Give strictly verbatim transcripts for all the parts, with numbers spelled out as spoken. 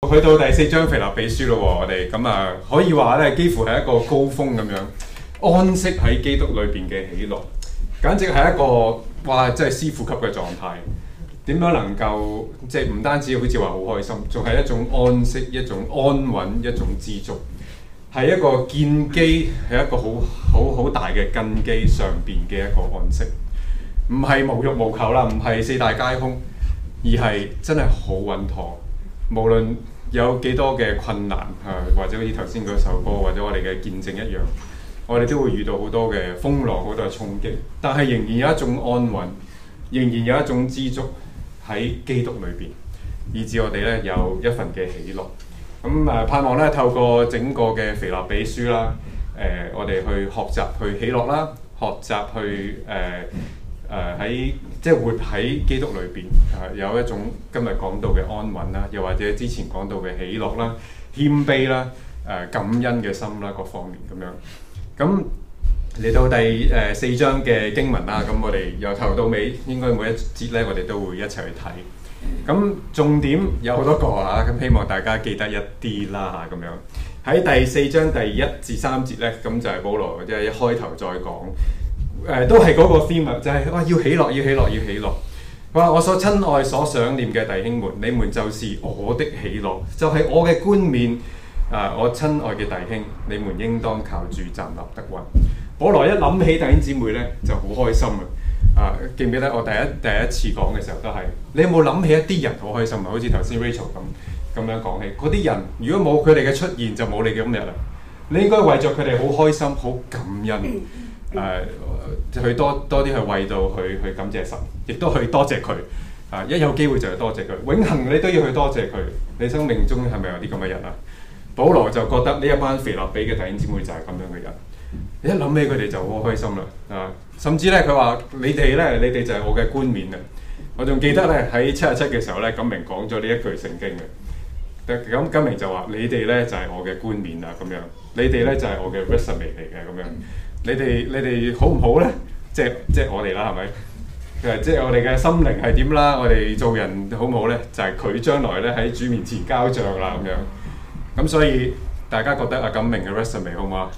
去到第四章腓立比書咯喎，我哋咁啊可以話咧，幾乎係一個高峰咁樣，安息喺基督裏邊嘅喜樂，簡直係一個哇，即係師傅級嘅狀態。點樣能夠即係唔單止好似話好開心，仲係一種安息、一種安穩、一種知足，係一個建基，係一個好好好大嘅根基上邊嘅一個安息，唔係無欲無求啦，唔係四大皆空，而係真係好穩妥。無論有幾多嘅困難啊，或者好似頭先嗰首歌，或者我哋嘅見證一樣，我哋都會遇到好多嘅風浪、好多嘅衝擊，但係仍然有一種安穩，仍然有一種知足喺基督裏邊，以致我哋咧有一份嘅喜樂。咁誒、呃、盼望咧透過整個嘅腓立比書啦，誒、呃、我哋去學習去喜樂啦，學習去誒。呃誒喺、呃、即係活喺基督裏邊，誒、呃、有一種今日講到嘅安穩啦，又或者之前講到嘅喜樂啦、謙卑啦、誒、呃、感恩嘅心啦，各方面咁樣。咁嚟到第誒、呃、四章嘅經文啦，咁我哋由頭到尾應該每一節咧，我哋都會一齊去睇。咁重點有好多個啊，咁希望大家記得一啲啦嚇咁樣。喺第四章第一至三節咧，咁就係保羅即係一開頭再講。誒、呃、都係嗰個 theme 啊，就係、是、哇要喜樂，要喜樂，要喜樂。佢話我所親愛、所想念嘅弟兄們，你們就是我的喜樂，就係、是、我嘅冠冕。啊、呃，我親愛嘅弟兄，你們應當靠主站立得穩。保羅一諗起弟兄姊妹咧，就好開心啊！啊、呃，記唔記得我第一第一次講嘅時候都係，你有冇諗起一啲人好開心啊？好似頭先 Rachel 咁咁樣講起，嗰啲人如果冇佢哋嘅出現，就冇你嘅今日啦。你應該為咗佢哋好開心、好感恩。誒、呃，去多多啲去為到去去感謝神，亦都去多謝佢。啊，一有機會就去多謝佢，永恆你都要去多謝佢。你生命中係咪有啲咁嘅人啊？保羅就覺得呢一班腓立比嘅弟兄姊妹就係咁樣嘅人。你一諗起佢哋就好開心啦。啊，甚至咧佢話你哋咧，你哋就係我嘅冠冕啊！我仲記得咧喺七十七嘅時候咧，錦明講咗呢一句聖經嘅。咁錦明就話你哋咧就係我嘅冠冕啊，咁樣。你哋咧就係我嘅 resume 嚟嘅咁樣。你哋你哋好唔好咧？即係即係我哋啦，係咪？誒，即係我哋嘅心靈係點啦？我哋做人好唔好咧？就係、是、佢將來咧喺主面前交賬啦，咁樣。咁所以大家覺得阿錦明嘅 resume 好唔好啊？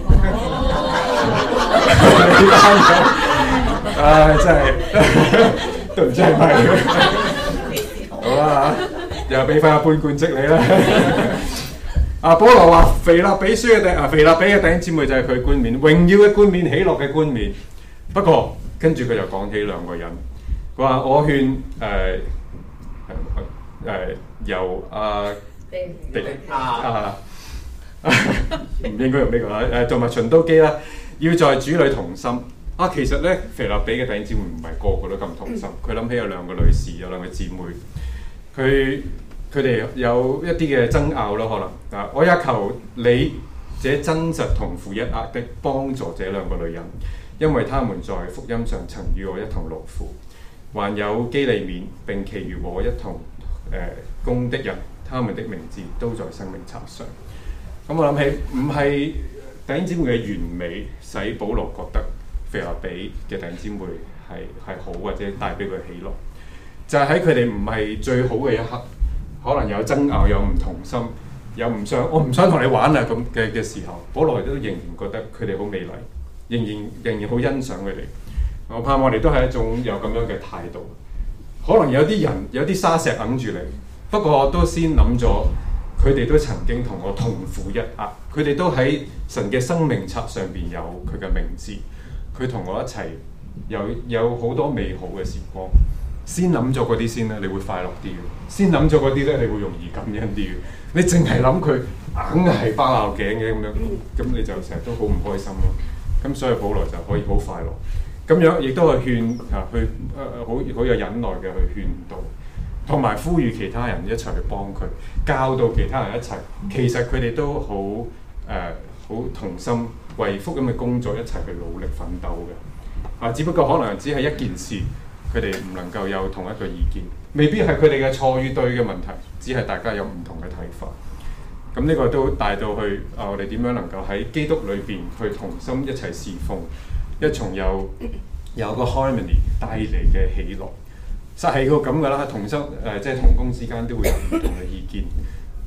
唉，真係都唔知係咪。好啦嚇，又俾翻一半冠職你啦。啊，保羅話腓立比書嘅弟啊，腓立比嘅弟兄姊妹就係佢冠冕，榮耀嘅冠冕，喜樂嘅冠冕。不過跟住佢就講起兩個人，佢話我勸誒誒由阿迪啊，唔應該用呢個啦，誒同埋循都基啦，要在主裏同心。啊，其實咧腓立比嘅弟兄姊妹唔係個個都咁同心。佢諗起有兩個女士，有兩個姊妹，佢。佢哋有一啲嘅爭拗咯，可能啊，我也求你這真實同負一軛的幫助這兩個女人，因為他們在福音上曾與我一同勞苦，還有基利勉並其餘和我一同誒工、呃、的人，他們的名字都在生命冊上。咁、嗯、我諗起唔係弟兄姊妹嘅完美使保羅覺得腓立比嘅弟兄姊妹係係好或者帶俾佢喜樂，就係喺佢哋唔係最好嘅一刻。可能有爭拗，有唔同心，有唔想，我唔想同你玩啊咁嘅嘅時候，保羅都仍然覺得佢哋好美麗，仍然仍然好欣賞佢哋。我盼望我哋都係一種有咁樣嘅態度。可能有啲人有啲沙石揞住你，不過我都先諗咗，佢哋都曾經同我同負一軛，佢哋都喺神嘅生命冊上邊有佢嘅名字，佢同我一齊有有好多美好嘅時光。先諗咗嗰啲先咧，你會快樂啲嘅；先諗咗嗰啲咧，你會容易感恩啲嘅。你淨係諗佢硬係包拗頸嘅咁樣，咁你就成日都好唔開心咯。咁所以保羅就可以好快樂。咁樣亦都係勸啊，去誒好好有忍耐嘅去勸導，同埋呼籲其他人一齊去幫佢，教導其他人一齊。其實佢哋都好誒好同心，為福音嘅工作一齊去努力奮鬥嘅。啊，只不過可能只係一件事。佢哋唔能夠有同一個意見，未必係佢哋嘅錯與對嘅問題，只係大家有唔同嘅睇法。咁呢個都帶到去啊，我哋點樣能夠喺基督裏邊去同心一齊侍奉，一從有有個 harmony 帶嚟嘅喜樂，實係個咁噶啦。同心誒、呃，即係同工之間都會有唔同嘅意見，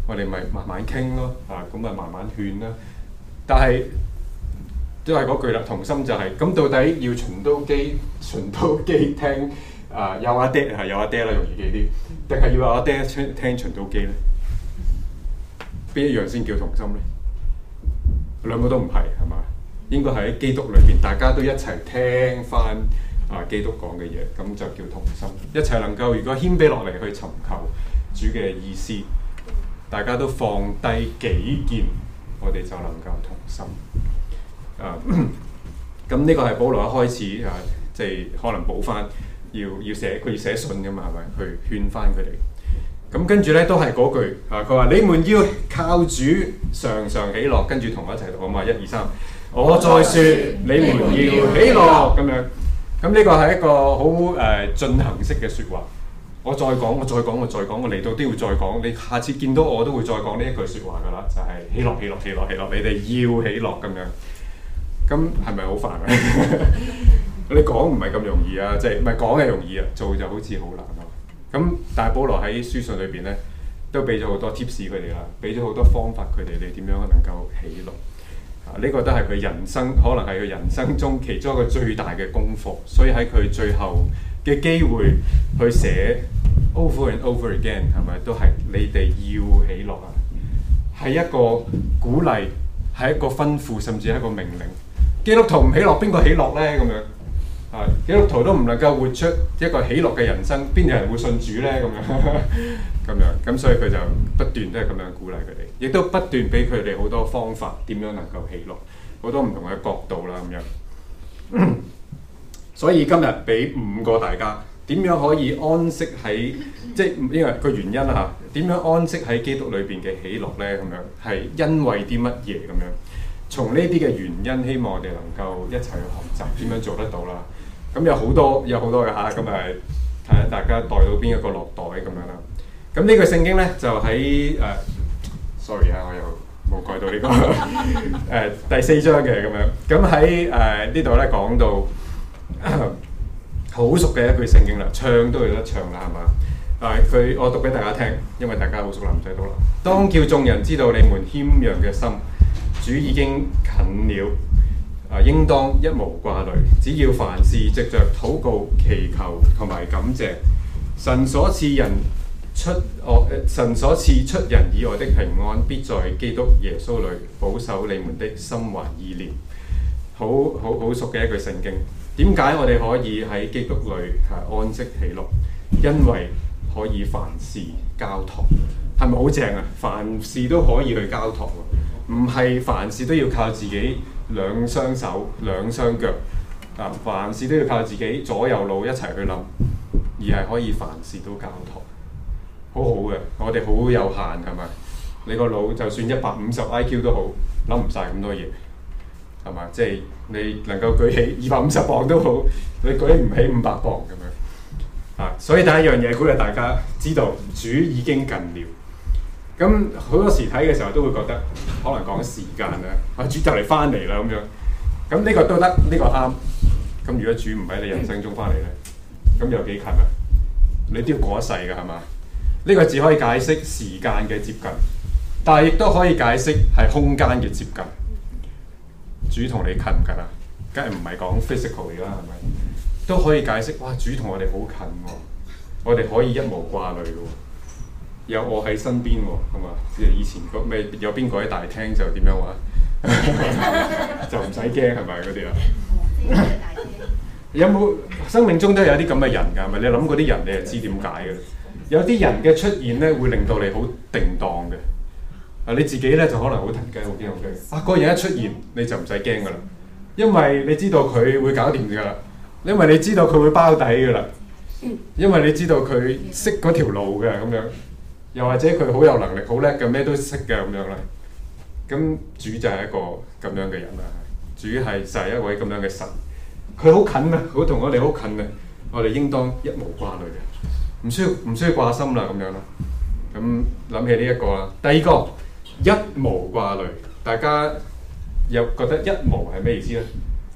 我哋咪慢慢傾咯，啊咁咪慢慢勸啦。但係都係嗰句啦，同心就係、是、咁，到底要循都基循都基聽啊有阿爹係有阿爹啦，容易記啲，定係要有阿爹聽聽循都基咧？邊一樣先叫同心咧？兩個都唔係，係嘛？應該喺基督裏邊，大家都一齊聽翻啊基督講嘅嘢，咁就叫同心。一齊能夠如果謙卑落嚟去尋求主嘅意思，大家都放低己見，我哋就能夠同心。啊，咁呢個係保羅一開始啊，即係可能補翻，要要寫佢要寫信㗎嘛，係咪？去勸翻佢哋。咁跟住咧都係嗰句啊，佢話你們要靠主常常喜樂，跟住同我一齊讀啊嘛，一二三，我再説你們要喜樂咁樣。咁呢個係一個好誒進行式嘅説話。我再講，我再講，我再講，我嚟到都要再講。你下次見到我都會再講呢一句説話㗎啦，就係、是、喜樂、喜樂、喜樂、喜樂。你哋要喜樂咁樣。咁係咪好煩啊？你講唔係咁容易啊，即係唔係講係容易啊，做就好似好難啊。咁但係保羅喺書信裏邊咧，都俾咗好多 tips 佢哋啦，俾咗好多方法佢哋，你點樣能夠喜樂啊？呢、這個都係佢人生，可能係佢人生中其中一個最大嘅功課。所以喺佢最後嘅機會去寫 over and over again， 係咪都係你哋要喜樂啊？係一個鼓勵，係一個吩咐，甚至係一個命令。基督徒唔喜樂，邊個喜樂咧？咁樣啊，基督徒都唔能夠活出一個喜樂嘅人生，邊有人會信主咧？咁樣咁樣咁，所以佢就不斷都係咁樣鼓勵佢哋，亦都不斷俾佢哋好多方法，點樣能夠喜樂，好多唔同嘅角度啦，咁樣。所以今日俾五個大家，點樣可以安息喺即係因為個原因啊？點樣安息喺基督裏邊嘅喜樂咧？咁樣係因為啲乜嘢咁樣？從呢啲嘅原因，希望我哋能夠一齊去學習點樣做得到啦。咁有好多有好多嘅嚇，咁誒睇下大家帶到邊一個落袋咁樣啦。咁呢個聖經咧就喺誒、呃、，sorry 啊，我又冇改到呢、這個誒、呃、第四章嘅咁樣。咁喺誒呢度咧講到好熟嘅一句聖經啦，唱都有得唱啦，係嘛？誒佢我讀俾大家聽，因為大家好熟啦，唔使讀啦。當叫眾人知道你們謙讓嘅心。主已經近了，啊，應當一無掛慮，只要凡事藉着禱告、祈求同埋感謝，神所賜人出哦，神所賜出人意外的平安，必在基督耶穌裏保守你們的心懷意念。好好好熟嘅一句聖經。點解我哋可以喺基督裏係安息喜樂？因為可以凡事交託，係咪好正啊？凡事都可以去交託。唔係凡事都要靠自己兩雙手兩雙腳啊！凡事都要靠自己左右腦一齊去諗，而係可以凡事都交託，好好嘅。我哋好有限係咪？你個腦就算一百五十 I Q 都好，諗唔晒咁多嘢係嘛？即係你能夠舉起二百五十磅都好，你舉唔起五百磅咁樣啊！所以第一樣嘢鼓勵大家知道，主已經近了。咁好多時睇嘅時候都會覺得可能講時間啦，啊主就嚟翻嚟啦咁樣，咁呢個都得，呢、這個啱。咁如果主唔喺你人生中翻嚟咧，咁有幾近啊？你都要過一世㗎係嘛？呢、這個只可以解釋時間嘅接近，但係亦都可以解釋係空間嘅接近。主同你近唔近啊？梗係唔係講 physical 嚟啦，係咪？都可以解釋，哇！主同我哋好近喎，我哋可以一無掛慮㗎喎。有我喺身邊喎，係嘛？即係以前個咩有邊個喺大廳就點樣話，就唔使驚係咪嗰啲啊？有冇生命中都有啲咁嘅人㗎？係咪？你諗嗰啲人，你就知點解嘅。有啲人嘅出現咧，會令到你好定當嘅。啊，你自己咧就可能好騰雞，好驚好驚。啊，嗰個人一出現，你就唔使驚㗎啦，因為你知道佢會搞掂㗎啦，因為你知道佢會包底㗎啦，因為你知道佢識嗰條路嘅咁樣。又或者佢好有能力、好叻嘅，咩都識嘅咁樣啦。咁主就係一個咁樣嘅人啦。主係就係一位咁樣嘅神，佢好近啊，好同我哋好近啊。我哋應當一無掛慮嘅，唔需要唔需要掛心啦咁樣啦。咁諗起呢一個啦。第二個一無掛慮，大家又覺得一無係咩意思咧？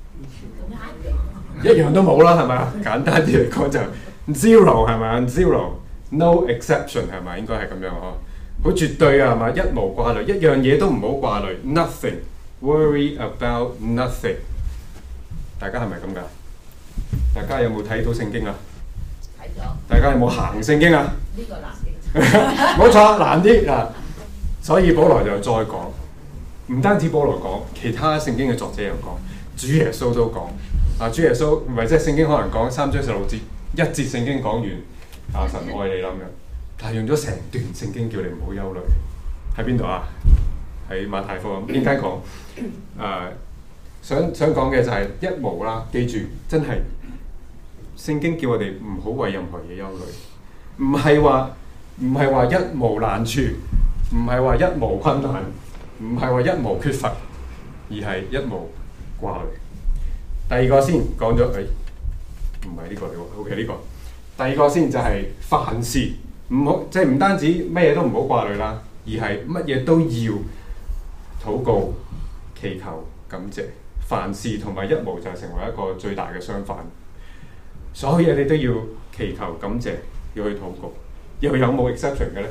一樣都冇啦，係咪啊？簡單啲嚟講就 zero 係咪啊 ？zero。No exception 係咪應該係咁樣呵？ 好絕對啊，係嘛？一無掛慮，一樣嘢都唔好掛慮 ，nothing worry about nothing。大家係咪咁㗎？大家有冇睇到聖經啊？睇咗。大家有冇行聖經啊？呢個難啲。冇錯，難啲啊！所以保羅就再講，唔單止保羅講，其他聖經嘅作者又講，主耶穌都講。啊，主耶穌唔係即係聖經可能講三章十六節，一節聖經講完，啊神愛你啦咁樣，但係用咗成段聖經叫你唔好憂慮。喺邊度啊？喺馬太福音邊間講？誒、啊，想想講嘅就係一無啦，記住真係聖經叫我哋唔好為任何嘢憂慮，唔係話唔係話一無難處。唔係話一無困難，唔係話一無缺乏，而係一無掛慮。第二個先講咗，誒唔係呢個嚟喎 ，OK 呢個。第二個先就係凡事唔好，即係唔單止乜嘢都唔好掛慮啦，而係乜嘢都要禱告、祈求、感謝。凡事同埋一無就係成為一個最大嘅相反。所有嘢你都要祈求、感謝，要去禱告。又有冇 exception 嘅咧？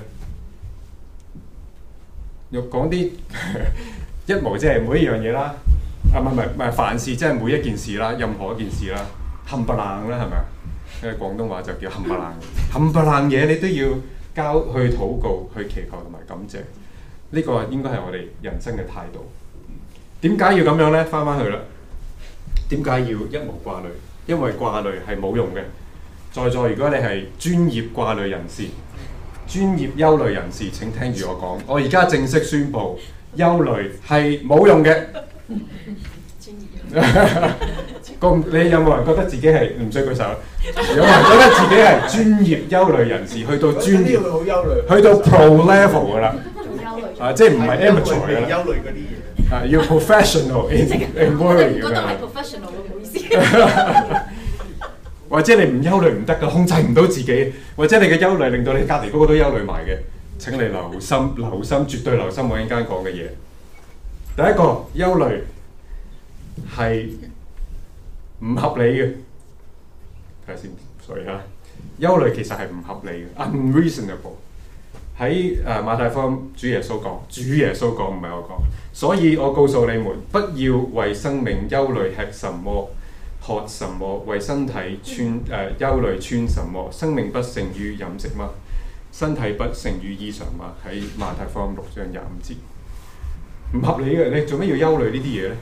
又講啲一無即係每一樣嘢啦，啊唔係唔係唔係凡事即係每一件事啦，任何一件事啦，冚唪唥啦係咪啊？因為廣東話就叫冚唪唥，冚唪唥嘢你都要交去禱告、去祈求同埋感謝，呢、這個應該係我哋人生嘅態度。點解要咁樣咧？翻返去啦，點解要一無掛慮？因為掛慮係冇用嘅。在座如果你係專業掛慮人士。專業憂慮人士，請聽住我講。我而家正式宣布，憂慮係冇用嘅。咁你有冇人覺得自己係唔需舉手？有冇人覺得自己係專業憂慮人士？去到專業，去到 pro level 噶啦。啊，即係唔係 amateur 噶啦。憂慮嗰啲嘢。啊，要 professional in in worry 㗎。覺得係 professional 喎，唔好意思。或者你唔憂慮唔得㗎，控制唔到自己，或者你嘅憂慮令到你隔離嗰個都憂慮埋嘅。請你留心，留心，絕對留心我陣間講嘅嘢。第一個憂慮係唔合理嘅，睇下先，所以嚇憂慮其實係唔合理嘅 ，unreasonable。喺誒馬太福音，主耶穌講，主耶穌講唔係我講，所以我告訴你們，不要為生命憂慮吃什麼。喝什麼？為身體穿誒、呃、憂慮穿什麼？生命不勝於飲食嗎？身體不勝於衣裳嗎？喺馬太福音六章廿五節，唔合理嘅。你做咩要憂慮呢啲嘢咧？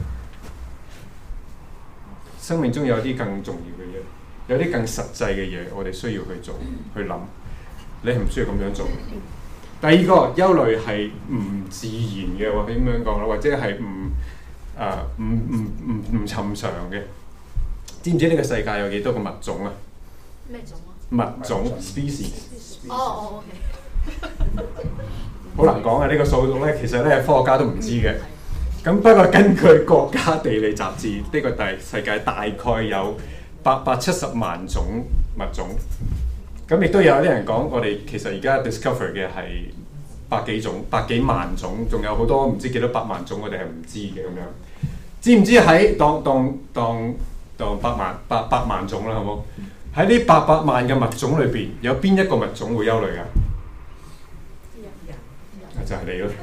生命中有啲更重要嘅嘢，有啲更實際嘅嘢，我哋需要去做去諗。你係唔需要咁樣做。第二個憂慮係唔自然嘅，或者點樣講啦？或者係唔誒唔唔唔唔尋常嘅。知唔知呢個世界有幾多個物種啊？咩種啊？物種 species。哦哦 OK。好難講啊！呢、這個數目咧，其實咧科學家都唔知嘅。咁不過根據國家地理雜誌，呢、這個大世界大概有八百七十萬種物種。咁亦都有啲人講，我哋其實而家 discover 嘅係百幾種、百幾萬種，仲有好多唔知幾多百萬種，我哋係唔知嘅咁樣。知唔知喺當當當？當百萬、百百萬種啦，好冇？喺呢八百萬嘅物種裏邊，有邊一個物種會憂慮㗎？就係你咯！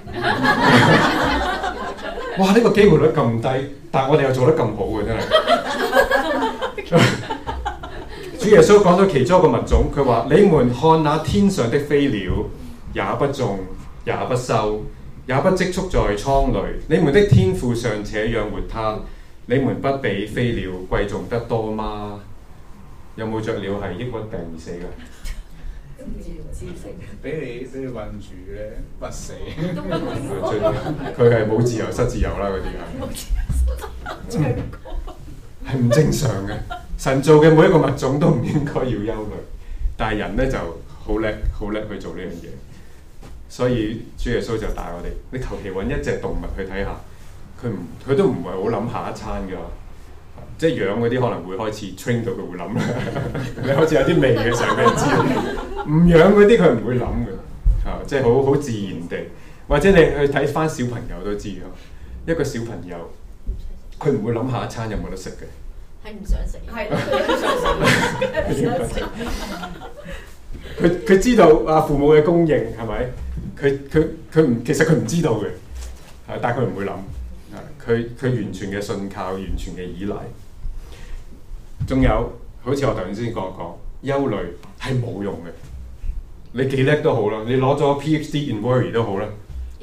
哇！呢、這個機會率咁低，但係我哋又做得咁好嘅，真係。主耶穌講咗其中一個物種，佢話：你們看那天上的飛鳥，也不種，也不收，也不積蓄在倉裡，你們的天父尚且養活它。你們不比飛鳥貴重得多嗎？有冇雀鳥係抑鬱病而死㗎？俾你俾你困住咧，不死。佢係冇自由失自由啦，嗰啲係。係唔正常嘅。神做嘅每一個物種都唔應該要憂慮，但係人咧就好叻，好叻去做呢樣嘢。所以主耶穌就帶我哋，你求其揾一隻動物去睇下。佢唔，佢都唔係好諗下一餐㗎，即係養嗰啲可能會開始 train 到佢會諗啦。你開始有啲味嘅時候，佢就知道。唔養嗰啲佢唔會諗嘅，嚇，即係好好自然地。或者你去睇翻小朋友都知㗎，一個小朋友佢唔會諗下一餐有冇得食嘅。係唔想食，係唔想食。佢佢知道啊父母嘅供應係咪？ 佢佢佢唔其實佢唔知道嘅，係但係佢唔會諗，係佢佢完全嘅信靠，完全嘅依賴。仲有好似我頭先講講，憂慮係冇用嘅。你幾叻都好啦，你攞咗 PhD in worry 都好啦，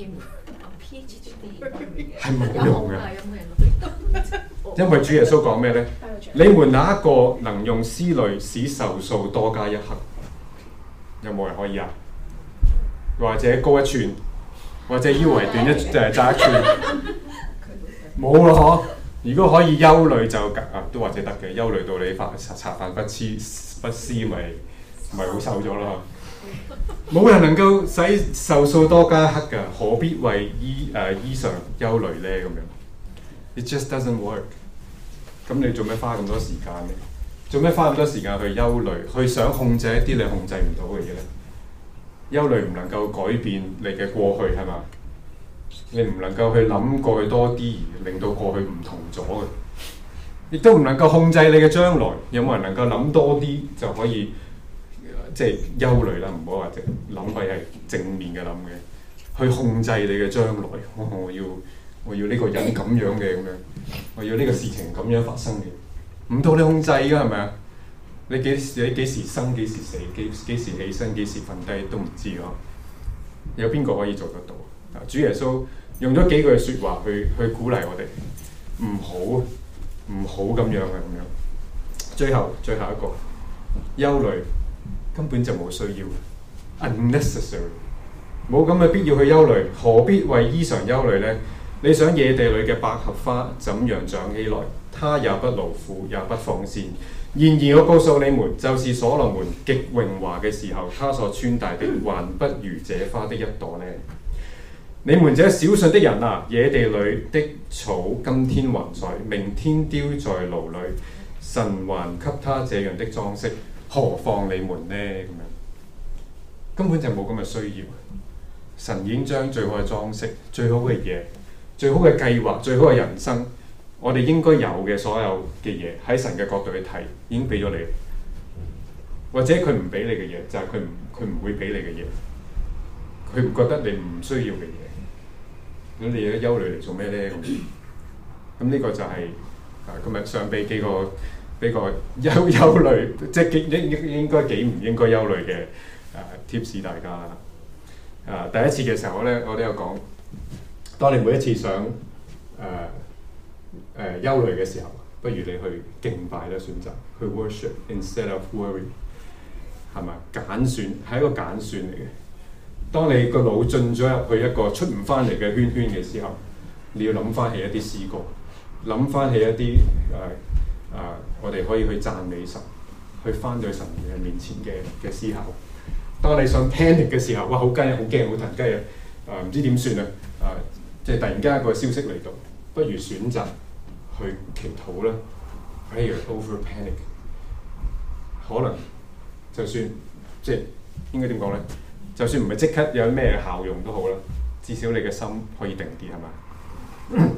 係冇用嘅。因為主耶穌講咩咧？你們哪一個能用思慮使壽數多加一刻？有冇人可以啊？或者高一寸，或者腰圍短一誒窄一寸？冇啦嗬！如果可以憂慮就啊，都或者得嘅。憂慮到你飯茶飯不思不思，咪咪好瘦咗啦。冇人能夠使壽數多加一刻㗎，何必為衣誒、呃、衣裳憂慮咧？咁樣 ，it just doesn't work。咁你做咩花咁多時間咧？做咩花咁多時間去憂慮，去想控制一啲你控制唔到嘅嘢咧？憂慮唔能夠改變你嘅過去係嘛？你唔能夠去諗過去多啲，而令到過去唔同咗嘅，亦都唔能夠控制你嘅將來。有冇人能夠諗多啲就可以？即係憂慮啦，唔好話淨諗係係正面嘅諗嘅，去控制你嘅將來。我我要我要呢個人咁樣嘅咁樣，我要呢個事情咁樣發生嘅，唔到你控制㗎係咪啊？你幾時你幾時生幾時死幾幾時起身幾時瞓低都唔知咯。有邊個可以做得到？主耶穌用咗幾句説話去去鼓勵我哋，唔好唔好咁樣嘅咁樣。最後最後一個憂慮。根本就冇需要 ，unnecessary， 冇咁嘅必要去憂慮，何必為衣裳憂慮呢？你想野地裏嘅百合花怎樣長起來？它也不勞苦，也不紡線。然而我告訴你們，就是所羅門極榮華嘅時候，他所穿戴的還不如這花的一朵呢。你們這小信的人啊，野地裏的草今天還在，明天丟在爐裏，神還給他這樣的裝飾。何況你們呢？咁樣根本就冇咁嘅需要。神已經將最好嘅裝飾、最好嘅嘢、最好嘅計劃、最好嘅人生，我哋應該有嘅所有嘅嘢，喺神嘅角度去睇，已經俾咗你。或者佢唔俾你嘅嘢，就係佢唔佢唔會俾你嘅嘢。佢唔覺得你唔需要嘅嘢。咁你有憂慮嚟做咩咧？咁咁呢個就係、是、啊今日上俾幾個。呢個憂憂慮，即係應應應該幾唔應該憂慮嘅誒 tips 大家啦。誒、呃、第一次嘅時候咧，我都有講，當你每一次想誒誒、呃呃、憂慮嘅時候，不如你去敬拜咧，選擇去 worship instead of worry， 係咪？揀選係一個揀選嚟嘅。當你個腦進咗入去一個出唔翻嚟嘅圈圈嘅時候，你要諗翻起一啲詩歌，諗翻起一啲誒。呃啊！Uh, 我哋可以去讚美神，去翻到神嘅面前嘅嘅思考。當你想 panic 嘅時候，哇！好驚，好驚，好騰雞啊！啊，唔知點算啊！啊，即係突然間一個消息嚟到，不如選擇去祈禱啦 ，prayer over panic。可能就算即係應該點講咧？就算唔係即刻有咩效用都好啦，至少你嘅心可以定啲，係嘛？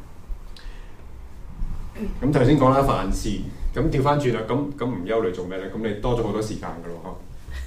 咁頭先講啦，凡事咁調翻轉啦，咁咁唔憂慮做咩咧？咁你多咗好多時間噶咯，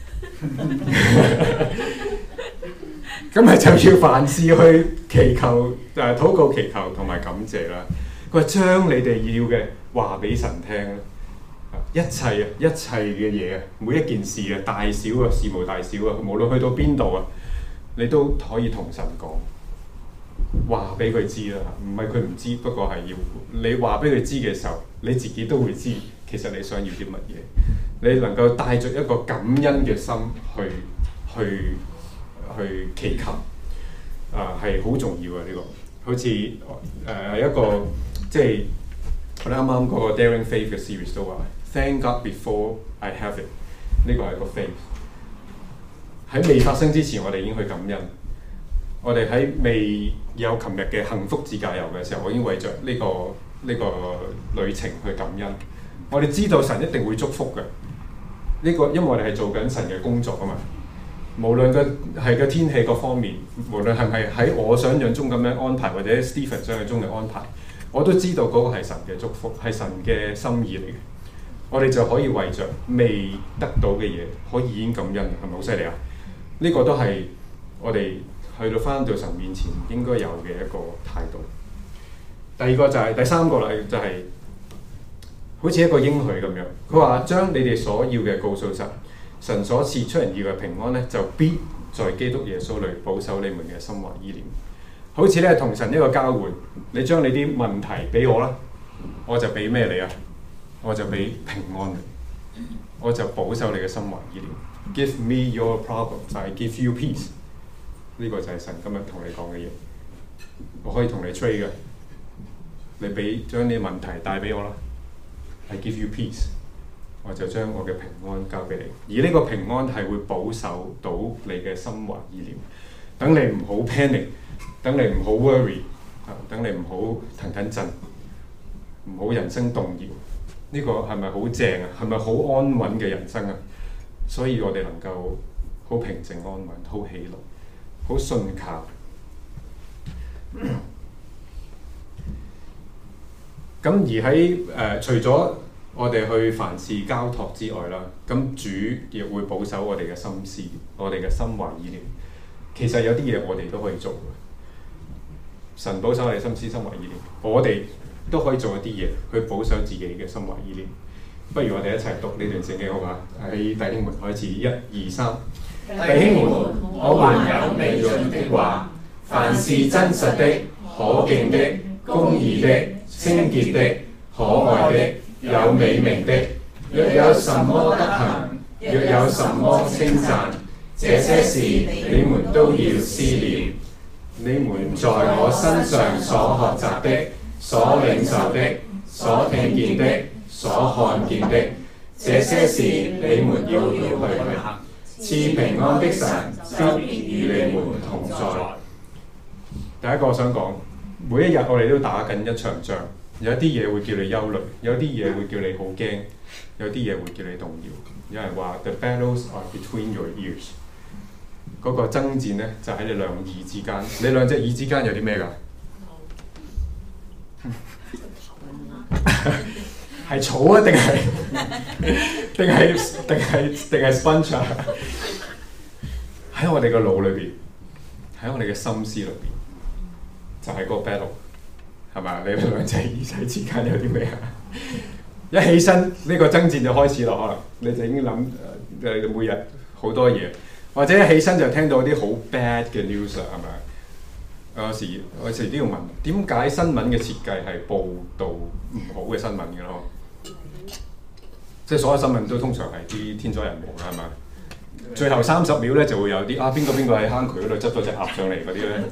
嗬？咁咪就要凡事去祈求，誒禱告、祈求同埋感謝啦。佢話將你哋要嘅話俾神聽啦，一切啊，一切嘅嘢啊，每一件事啊，大小啊，事無大小啊，無論去到邊度啊，你都可以同神講。話俾佢知啦，唔係佢唔知，不過係要你話俾佢知嘅時候，你自己都會知其實你想要啲乜嘢。你能夠帶着一個感恩嘅心去去去祈求，啊係好重要嘅呢個。好似誒係一個即係我哋啱啱嗰個 Daring Faith 嘅 series 都話 Thank God before I have it， 呢個係一個 faith。喺未發生之前，我哋已經去感恩。我哋喺未有琴日嘅幸福自駕遊嘅時候，我已經為着呢、這個呢、這個旅程去感恩。我哋知道神一定會祝福嘅，呢、這個因為我哋係做緊神嘅工作啊嘛。無論個係個天氣各方面，無論係咪喺我想象中咁樣安排，或者 Stephen 想象中嘅安排，我都知道嗰個係神嘅祝福，係神嘅心意嚟嘅。我哋就可以為着未得到嘅嘢，可以已經感恩，係咪好犀利啊？呢、這個都係。 我哋去到返到神面前應該有嘅一個態度。第二個就係、是、第三個啦，就係、是、好似一個應許咁樣。佢話將你哋所要嘅告訴神，神所賜出人意嘅平安咧，就必在基督耶穌裏保守你們嘅心懷意念。好似咧同神一個交換，你將你啲問題俾我啦，我就俾咩你啊？我就俾平安你，我就保守你嘅心懷意念。Give me your problems, I give you peace。呢個就係神今日同你講嘅嘢。我可以同你 trade 嘅，你俾將啲問題帶俾我啦。I give you peace， 我就將我嘅平安交俾你。而呢個平安係會保守到你嘅心懷意念，等你唔好 panic， 等你唔好 worry， 等你唔好騰騰震，唔好人生動搖。呢、這個係咪好正啊？係咪好安穩嘅人生啊？所以我哋能夠好平靜安穩，好喜樂，好信靠。咁而喺誒、呃、除咗我哋去凡事交託之外啦，咁主亦會保守我哋嘅心思，我哋嘅心懷意念。其實有啲嘢我哋都可以做嘅。神保守我哋心思、心懷意念，我哋都可以做一啲嘢去保守自己嘅心懷意念。不如我哋一齊讀呢段聖經好嘛？喺弟兄們開始，一二三。弟兄們，我還有未盡的話，凡是真實的、可敬的、公義的、清潔的、可愛的、有美名的，若有什麼德行，若有什麼稱讚，這些事你們都要思念。你們在我身上所學習的、所領受的、所聽見的、所看見的，這些事你們要要去行。賜平安的神必與你們同在。第一個我想講，每一日我哋都打緊一場仗，有啲嘢會叫你憂慮，有啲嘢會叫你好驚，有啲嘢會叫你動搖。有人話 The battles are between your ears， 嗰個爭戰咧就喺你兩耳之間。你兩隻耳之間有啲咩㗎？係草啊，定係定係定係定係 sponge 啊？喺我哋個腦裏邊，喺我哋嘅心思裏邊，就係、是、嗰個 battle， 係咪？你兩隻耳仔之間有啲咩啊？一起身呢、這個爭戰就開始咯，可能你就已經諗誒、呃、每日好多嘢，或者一起身就聽到啲好 bad 嘅 news 啊，係咪？有時我有時都要問，點解新聞嘅設計係報導唔好嘅新聞嘅咯？即係所有新聞都通常係啲天災人禍啦，係咪？最後三十秒咧就會有啲啊邊個邊個喺坑渠嗰度執咗隻鴨上嚟嗰啲咧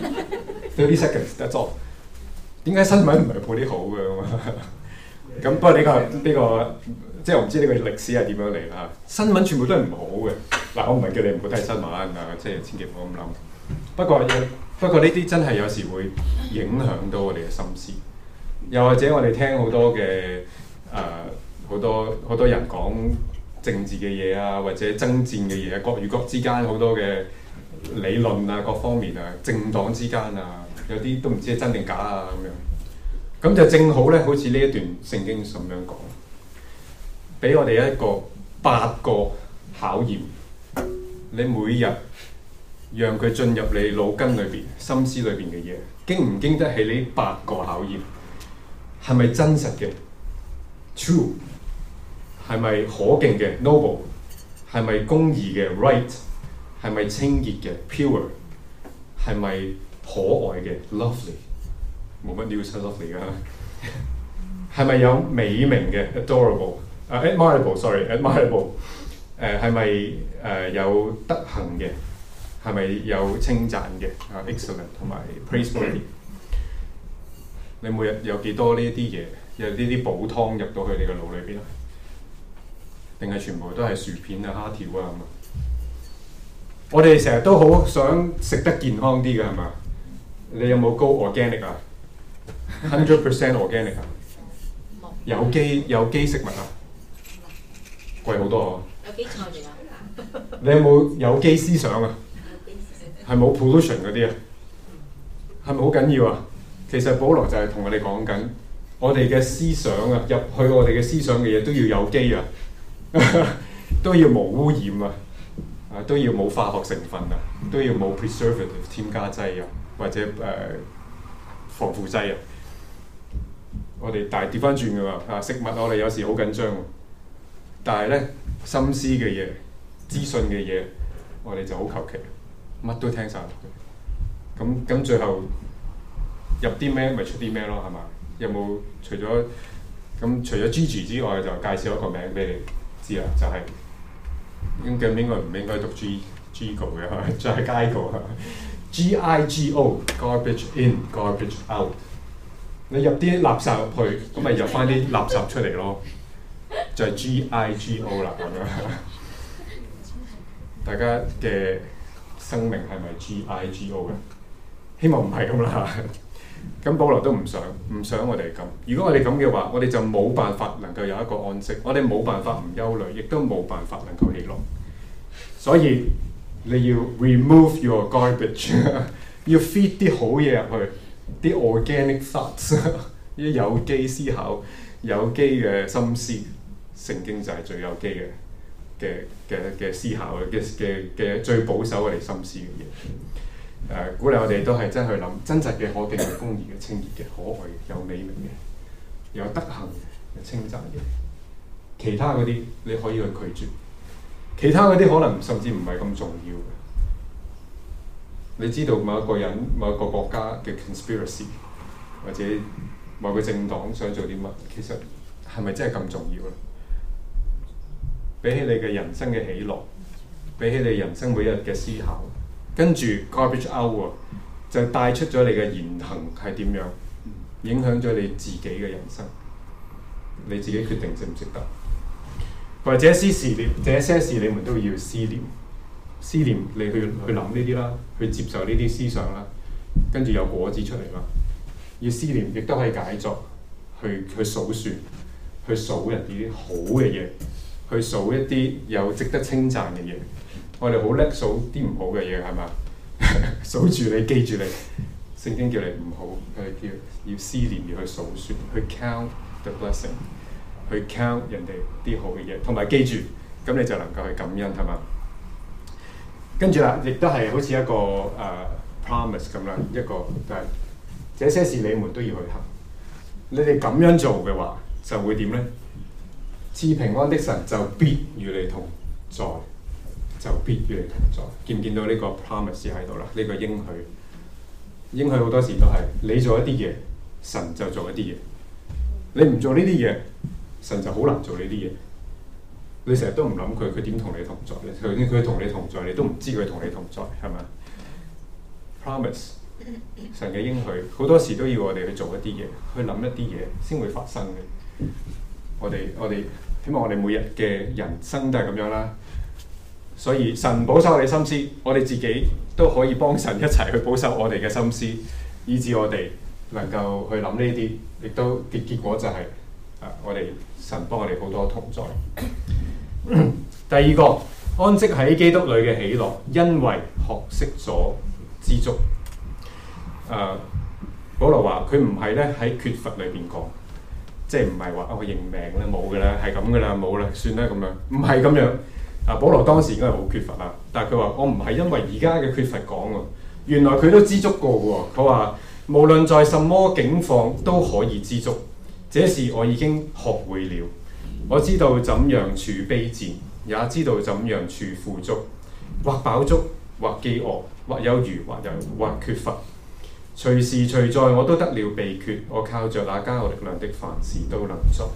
，thirty seconds that's all。點解新聞唔係報啲好嘅咁？不過呢個呢個即係我唔知呢個歷史係點樣嚟啦。新聞全部都係唔好嘅。嗱，我唔係叫你唔好睇新聞啊，即係千祈唔好咁諗。不過不過呢啲真係有時會影響到我哋嘅心思。又或者我哋聽好多嘅誒好多好多人講政治嘅嘢啊，或者爭戰嘅嘢，國與國之間好多嘅理論啊，各方面啊，政黨之間啊，有啲都唔知係真定假啊咁樣。咁就正好咧，好似呢一段聖經咁樣講，俾我哋一個八個考驗。你每日讓佢進入你腦筋裏邊、心思裏邊嘅嘢，經唔經得起呢八個考驗？係咪真實嘅 ？True。係咪可敬嘅 noble？ 係咪公義嘅 right？ 係咪清潔嘅 pure？ 係咪可愛嘅 lovely？ 冇乜 news 係 lovely 㗎。係咪有美名嘅 adorable？ 啊、uh, admirable，sorry admirable。誒係咪誒有德行嘅？係咪有稱讚嘅？啊、uh, excellent 同埋 praiseworthy。你每日有幾多呢一啲嘢？有呢啲補湯入到去你個腦裏邊啊？定係全部都係薯片啊、蝦條啊咁啊？我哋成日都好想食得健康啲嘅係嘛？你有冇 go organic 啊 ？hundred percent organic 啊？有機有機食物啊？貴好多啊！有機菜嚟啊！你有冇有機思想啊？係冇 pollution 嗰啲啊？係咪好緊要啊？其實保羅就係同我哋講緊，我哋嘅思想啊，入去我哋嘅思想嘅嘢都要有機啊！都要無污染啊！ 啊都要冇化學成分啊，都要冇 preservative 添加劑啊，或者誒、呃、防腐劑啊。我哋但係調翻轉㗎喎，啊食物我哋有時好緊張喎，但係咧心思嘅嘢、資訊嘅嘢，我哋就好求其，乜都聽晒落去。咁咁最後入啲咩咪出啲咩咯，係嘛？有冇除咗咁除咗 Gigi 之外，就介紹一個名俾你知啦，就係、是、應該應該唔應該讀 G Gigo 嘅，就係 Gigo G I G O garbage in garbage out。你入啲垃圾入去，咁咪入翻啲垃圾出嚟咯，就係、是、G I G O 啦咁樣。大家嘅生命係咪 G I G O 嘅？希望唔係咁啦。咁保羅都唔想，唔想我哋咁。如果我哋咁嘅話，我哋就冇辦法能夠有一個安息，我哋冇辦法唔憂慮，亦都冇辦法能夠喜樂。所以你要 remove your garbage， 要 feed 啲好嘢入去。啲 organic thoughts， 啲有機思考、有機嘅心思，聖經就係最有機嘅嘅嘅嘅思考嘅嘅嘅最保守我哋心思嘅嘢。誒、呃，鼓勵我哋都係真去諗真實嘅、可敬嘅、公義嘅、清潔嘅、可愛嘅、有美名嘅、有德行嘅、稱讚嘅。其他嗰啲你可以去拒絕，其他嗰啲可能甚至唔係咁重要嘅。你知道某一個人、某一個國家嘅 conspiracy， 或者某個政黨想做啲乜，其實係咪真係咁重要咧？比起你嘅人生嘅喜樂，比起你人生每日嘅思考，跟住 garbage out 就帶出咗你嘅言行係點樣，影響咗你自己嘅人生，你自己決定值唔值得？或者這些事你這些事你們都要思念。思念你去去諗呢啲啦，去接受呢啲思想啦，跟住有果子出嚟啦。要思念亦都可以解作，去去數算，去數人哋啲好嘅嘢，去數一啲有值得稱讚嘅嘢。我哋好叻數啲唔好嘅嘢係嘛？數住你，記住你。聖經叫你唔好，佢叫要思念，要去數算，去 count the blessing， 去 count 人哋啲好嘅嘢，同埋記住，咁你就能夠去感恩係嘛？跟住啦，亦都係好似一個誒、uh, promise 咁啦，一個就係、是、這些事你們都要去行。你哋咁樣做嘅話，就會點咧？賜平安的神就必與你同在，就必與你同在。見唔見到呢個 promise 喺度啦？呢、這個應許，應許好多時都係你做一啲嘢，神就做一啲嘢。你唔做呢啲嘢，神就好難做呢啲嘢。你成日都唔諗佢，佢點同你同在咧？頭先佢同你同在，你都唔知佢同你同在，係咪 ？Promise 神嘅應許，好多時都要我哋去做一啲嘢，去諗一啲嘢，先會發生嘅。我哋我哋希望我哋每日嘅人生都係咁樣啦。所以神保守我哋心思，我哋自己都可以幫神一齊去保守我哋嘅心思，以致我哋能夠去諗呢啲，亦都結結果就係、是、啊，我哋神幫我哋好多同在。第二個安息喺基督裏嘅喜樂，因為學識咗知足。誒、呃，保羅話佢唔係咧喺缺乏裏邊講，即係唔係話我認命啦，冇㗎啦，係咁㗎啦，冇啦，算啦咁樣，唔係咁樣。啊，保羅當時應該係好缺乏啦，但係佢話我唔係因為而家嘅缺乏講喎，原來佢都知足過喎。佢話無論在什麼境況都可以知足，這事我已經學會了。我知道怎樣處卑賤，也知道怎樣處富足，或飽足，或飢餓，或有餘，或有或缺乏，隨時隨在我都得了秘訣。我靠着那加我力量的，凡事都能做。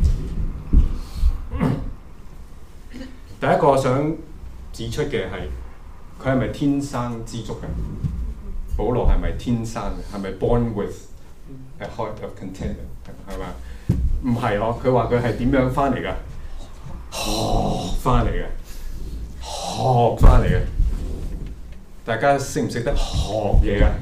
第一個想指出嘅係佢係咪天生知足嘅？保羅係咪天生嘅？係咪 born with a heart of contentment？ 係咪？唔係咯，佢話佢係點樣翻嚟㗎？學翻嚟嘅，學翻嚟嘅。大家識唔識得學嘢㗎？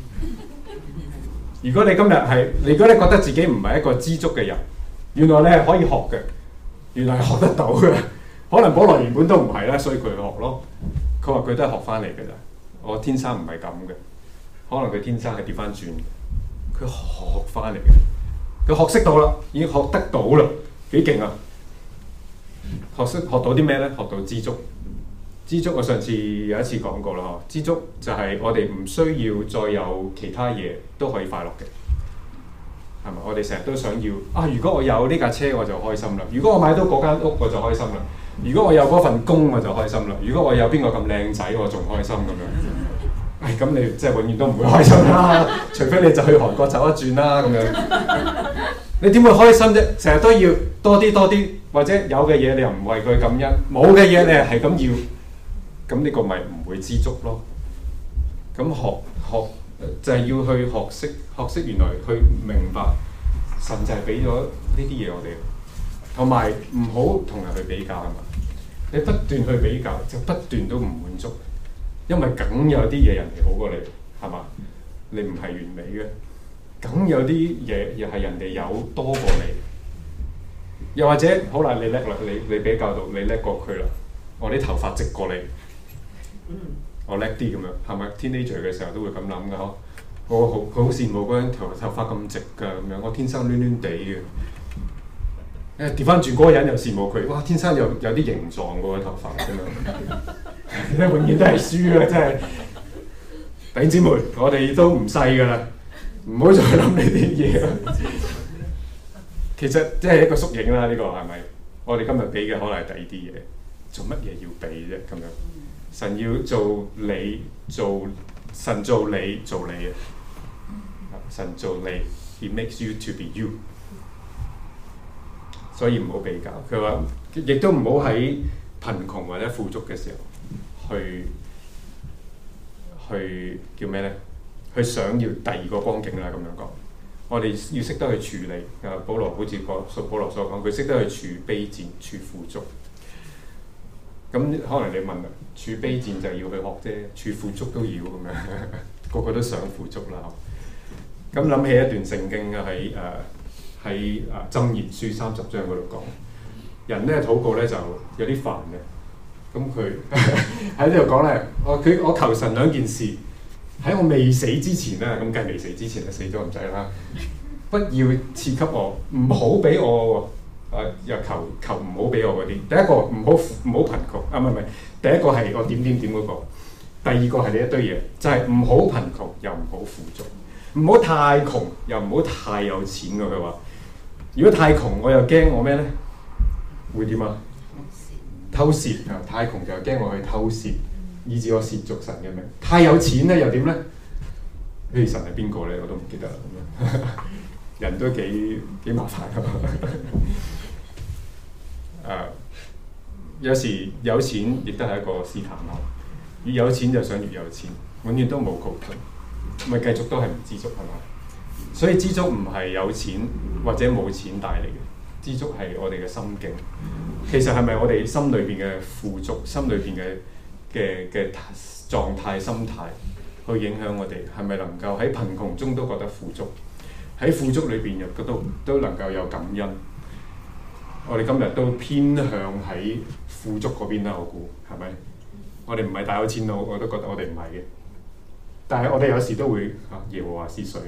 如果你今日係，如果你覺得自己唔係一個知足嘅人，原來你係可以學嘅，原來係學得到嘅。可能保羅原本都唔係啦，所以佢去學咯。佢話佢都係學翻嚟嘅咋，我天生唔係咁嘅。可能佢天生係調翻轉，佢學翻嚟嘅。佢學識到啦，已經學得到啦，幾勁啊！學識學到啲咩咧？學到知足， 知足我上次有一次講過啦，知足就係我哋唔需要再有其他嘢都可以快樂嘅，係咪？我哋成日都想要啊！如果我有呢架車我就開心啦，如果我買到嗰間屋我就開心啦，如果我有嗰份工我就開心啦，如果我有邊個咁靚仔我仲開心咁樣。唉，咁你即係永遠都唔會開心啦，除非你就去韓國走一轉啦咁樣。你點會開心啫？成日都要多啲多啲，或者有嘅嘢你又唔為佢感恩，冇嘅嘢你係咁要。咁呢個咪唔會知足咯。咁學學就係、是、要去學識學識原來去明白神就係俾咗呢啲嘢我哋，同埋唔好同人去比較啊嘛。你不斷去比較，就不斷都唔滿足，因為梗有啲嘢人哋好過你，係嘛？你唔係完美嘅，梗有啲嘢又係人哋有多過你。又或者好啦，你叻啦，你你比較到你叻過佢啦，我啲頭髮直過你。我叻啲咁樣，係咪 teenager 嘅時候都會咁諗噶？嗬，我好佢好羨慕嗰陣頭頭髮咁直㗎咁樣，我天生攣攣地嘅。誒調翻轉嗰個人又羨慕佢，哇！天生有有啲形狀嗰個頭髮咁樣，咧永遠都係輸嘅，真係。弟兄姊妹，我哋都唔細㗎啦，唔好再諗呢啲嘢啦。其實即係一個縮影啦，呢個係咪？我哋今日俾嘅可能係第二啲嘢，做乜嘢要俾啫？咁樣。神要做你做神做你做你啊！神做你 ，He makes you to be you。所以唔好比較。佢話亦都唔好喺貧窮或者富足嘅時候去去叫咩咧？去想要第二個光景啦咁樣講。我哋要識得去處理。啊，保羅好似個保羅所講，佢識得去處卑賤、處富足。咁可能你問啦，處卑賤就要去學啫，處富足都要咁樣，個個都想富足啦。咁諗起一段聖經啊，喺誒喺誒箴言書三十章嗰度講，人咧禱告咧就有啲煩嘅。咁佢喺呢度講咧，我佢我求神兩件事，喺我未死之前咧，咁梗係未死之前就死咗唔使啦。不要賜給我，唔好俾我。誒、啊、又求求唔好俾我嗰啲，第一個唔好唔好貧窮，啊唔係唔係，第一個係我點點點嗰個，第二個係呢一堆嘢，就係唔好貧窮又唔好富足，唔好太窮又唔好太有錢喎。佢話：如果太窮，我又驚我咩咧？會點啊？偷竊啊！太窮就驚我去偷竊，以致我褻瀆神嘅名。太有錢咧又點咧？呢神係邊個咧？我都唔記得啦。咁樣人都幾幾麻煩㗎。誒、uh, 有時有錢亦都係一個試探咯，越有錢就想越有錢，永遠都冇窮盡，咪繼續都係唔知足係嘛？所以知足唔係有錢或者冇錢帶嚟嘅，知足係我哋嘅心境。其實係咪我哋心裏邊嘅富足、心裏邊嘅嘅嘅狀態、心態去影響我哋？係咪能夠喺貧窮中都覺得富足，喺富足裏邊又覺得都能夠有感恩？我哋今日都偏向喺富足嗰邊啦，我估係咪？我哋唔係大有錢佬，我都覺得我哋唔係嘅。但係我哋有時都會啊，耶和華是誰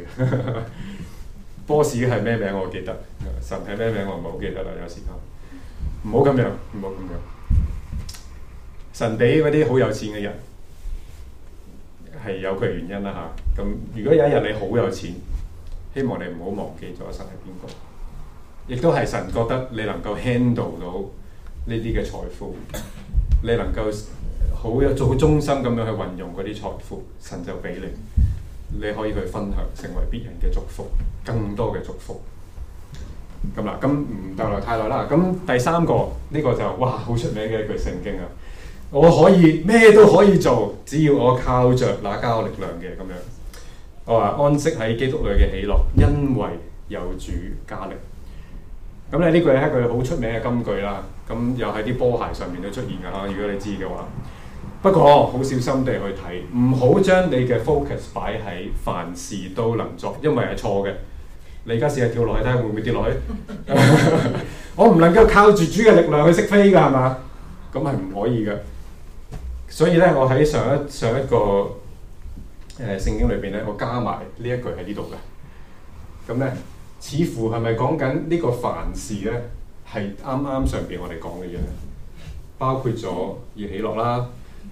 ？boss 係咩名我記得，神係咩名我唔係好記得啦。有時啊，唔好咁樣，唔好咁樣。神俾嗰啲好有錢嘅人係有佢原因啦嚇。咁、啊、如果有一日你好有錢，希望你唔好忘記咗神係邊個。亦都係神覺得你能夠 handle 到呢啲嘅財富，你能夠好有做好忠心咁樣去運用嗰啲財富，神就俾你，你可以去分享，成為別人嘅祝福，更多嘅祝福。咁啦，咁唔逗留太耐啦。咁第三個呢、呢個就哇好出名嘅一句聖經啊！我可以咩都可以做，只要我靠着那加我力量嘅咁樣。我話安息喺基督裏嘅喜樂，因為有主加力。咁咧呢句係一句好出名嘅金句啦，咁又喺啲波鞋上面都出現㗎啦。如果你知嘅話，不過好小心地去睇，唔好將你嘅 focus 擺喺凡事都能作，因為係錯嘅。你而家試下跳落去睇下會唔會跌落去？我唔能夠靠住主嘅力量去識飛㗎，係嘛？咁係唔可以嘅。所以咧，我喺上一上一個誒、呃、聖經裏邊咧，我加埋呢一句喺呢度嘅。咁咧。似乎係咪講緊呢個凡事咧，係啱啱上邊我哋講嘅嘢，包括咗要喜樂啦，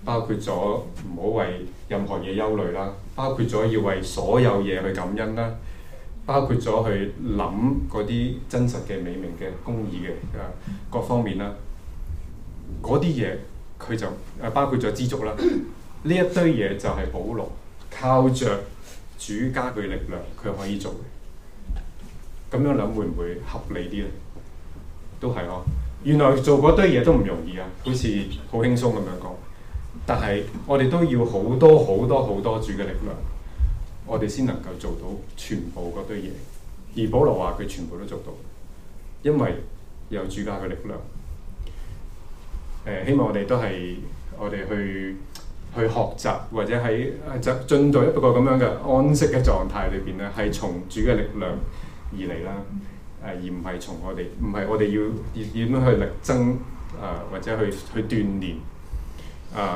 包括咗唔好為任何嘢憂慮啦，包括咗要為所有嘢去感恩啦，包括咗去諗嗰啲真實嘅美名嘅公義嘅啊各方面啦，嗰啲嘢佢就誒包括咗知足啦，呢一堆嘢就係保羅靠着主加佢力量，佢可以做嘅。咁樣諗會唔會合理啲咧？都係呵。原來做嗰堆嘢都唔容易啊，好似好輕鬆咁樣講。但係我哋都要好多好多好多主嘅力量，我哋先能夠做到全部嗰堆嘢。而保羅話佢全部都做到，因為有主加嘅力量。誒、呃，希望我哋都係我哋去去學習，或者喺就進到一個咁樣嘅安息嘅狀態裏邊咧，係從主嘅力量而嚟啦。誒、呃，而唔係從我哋，唔係我哋要點樣去力爭誒、呃，或者去去鍛鍊。啊，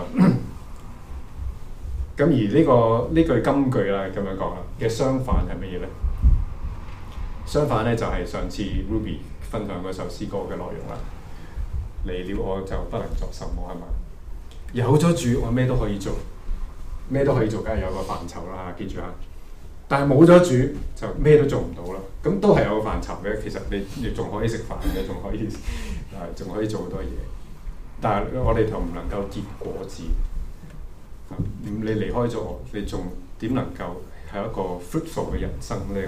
咁、uh, 而呢、這個呢句金句啦，咁樣講啦嘅相反係乜嘢咧？相反咧就係、是、上次 Ruby 分享嗰首詩歌嘅內容啦。離了我就不能作什麼係嘛？有咗主，我咩都可以做，咩都可以做，梗係有個範疇啦，記住啊！但係冇咗主就咩都做唔到啦。咁都係有個範疇嘅，其實你你仲可以食飯嘅，仲可以啊，仲可以做好多嘢。但係我哋就唔能夠結果子，咁你離開咗我，你仲點能夠係一個 fruitful 嘅人生咧？咁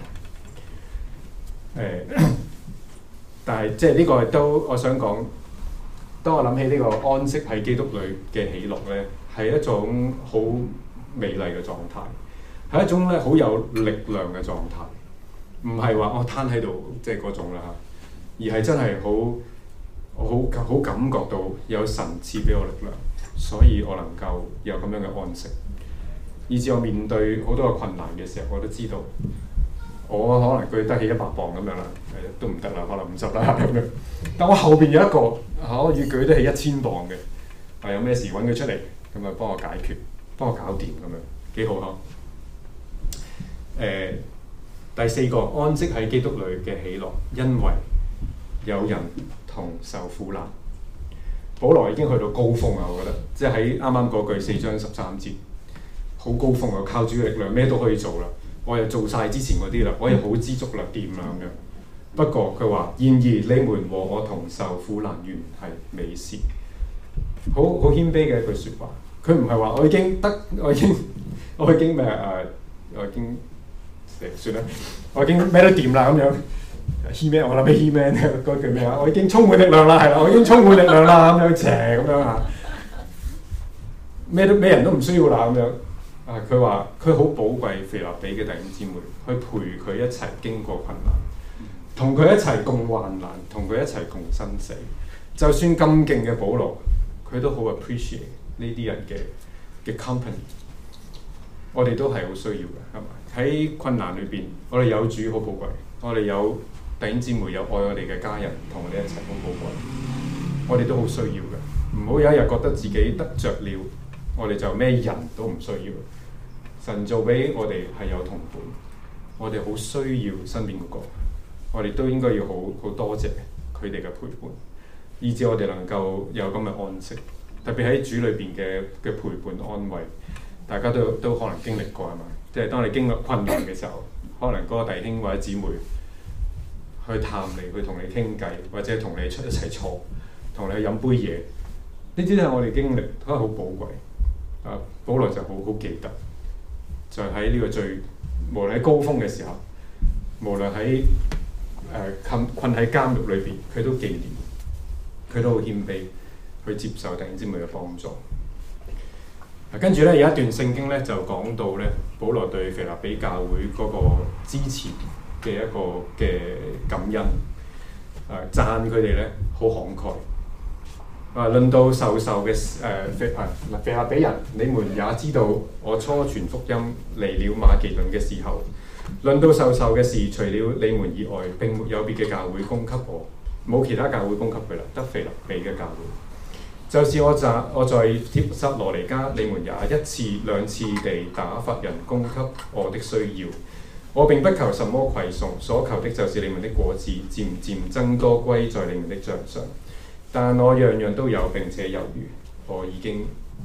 樣誒，但係即係呢個都我想講，當我諗起呢個安息喺基督裏嘅喜樂咧，係一種好美麗嘅狀態，係一種咧好有力量嘅狀態，唔係話我攤喺度即係嗰種啦，而係真係好。我好好感覺到有神賜俾我力量，所以我能夠有咁樣嘅安息，以至我面對好多嘅困難嘅時候，我都知道我可能舉得起一百磅咁樣啦，都唔得啦，可能五十啦咁樣。但我後邊有一個可以舉得起一千磅嘅，啊有咩事揾佢出嚟，咁啊幫我解決，幫我搞掂咁樣，幾好呵。誒、呃，第四個安息喺基督裏嘅喜樂，因為有人同受苦難。保羅已經去到高峰啊！我覺得，即係喺啱啱嗰句四章十三節，好高峰啊！靠主嘅力量，咩都可以做啦。我又做晒之前嗰啲啦，我又好知足啦，掂啦咁樣。不過佢話：然而你們和我同受苦難，原係美事。好好謙卑嘅一句説話。佢唔係話我已經得，我已經我已經咩誒、呃？我已經誒算啦，我已經咩都掂啦咁樣。He-Man， 我諗起 He-Man 嗰句咩啊？我已經充滿力量啦，係啦，我已經充滿力量啦，咁樣邪咁樣啊，咩都咩人都唔需要啦，咁樣啊。佢話佢好寶貴腓立比嘅弟兄姊妹，去陪佢一齊經過困難，同佢一齊共患難，同佢一齊共生死。就算咁勁嘅保羅，佢都好 appreciate 呢啲人嘅嘅 company。我哋都係好需要嘅，係咪？喺困難裏邊，我哋有主好寶貴，我哋有弟兄姊妹有愛我哋嘅家人同我哋一齊好寶貴，我哋都好需要嘅。唔好有一日覺得自己得着了，我哋就咩人都唔需要。神做俾我哋係有同伴，我哋好需要身邊嗰個，我哋都應該要好好多謝佢哋嘅陪伴，以至我哋能夠有咁嘅安息。特別喺主裏邊嘅嘅陪伴安慰，大家都都可能經歷過係嘛？即係當你經歷困難嘅時候，可能嗰個弟兄或者姊妹去探你，去同你傾偈，或者同你出一齊坐，同你去飲杯嘢，呢啲都係我哋經歷，都係好寶貴。啊，保羅就好好記得，就喺呢個最無論喺高峰嘅時候，無論喺誒困困喺監獄裏邊，佢都紀念，佢都好謙卑去接受弟兄姊妹嘅幫助。跟住咧有一段聖經咧就講到咧，保羅對腓立比教會嗰個支持嘅一個嘅感恩，誒、呃、讚佢哋咧好慷慨。啊，論到授受嘅誒腓啊腓立比人，你們也知道我初傳福音嚟了馬其頓嘅時候，論到授受嘅事，除了你們以外，並沒有別嘅教會供給我，冇其他教會供給佢啦，得腓立比嘅教會。就是我在我在帖撒羅尼迦，你們也一次兩次地打發人供給我的需要。我並不求什麼饋送，所求的就是你們的果子漸漸增多歸在你們的帳上。但我樣樣都有並且有餘，我已經